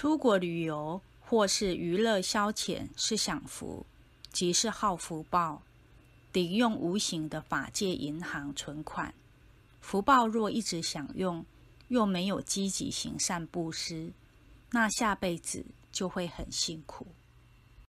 出国旅游或是娱乐消遣是享福，即是耗福报，抵用无形的法界银行存款。福报若一直享用，又没有积极行善布施，那下辈子就会很辛苦。